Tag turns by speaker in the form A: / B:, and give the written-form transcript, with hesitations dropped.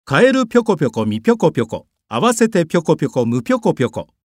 A: カエルぴょこぴょこみぴょこぴょこ、合わせてぴょこぴょこむぴょこぴょこ。